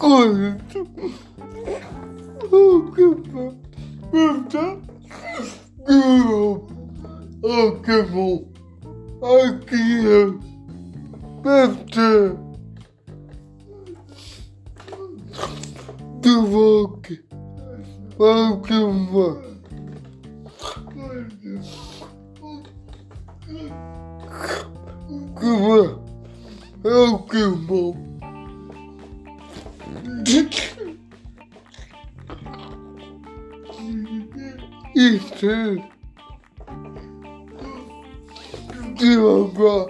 Correto. O que pergunta? O que bom. Aqui é. Pergunta. Do rock. O que bom. O que bom. Isso de uma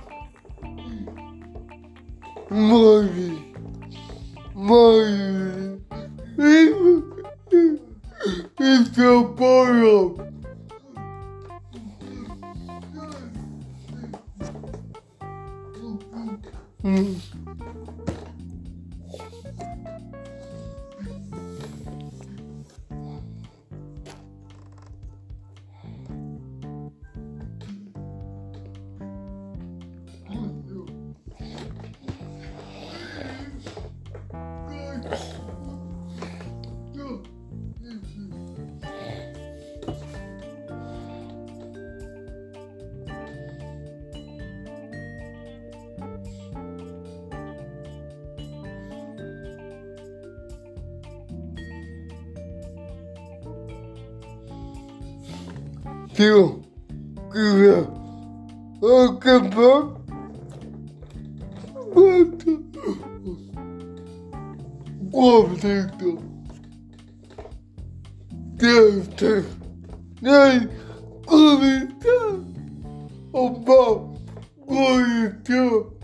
mãe e trabalho tio que o que bom. Conflito. Deus. Nem conflito. O bom. Conflito.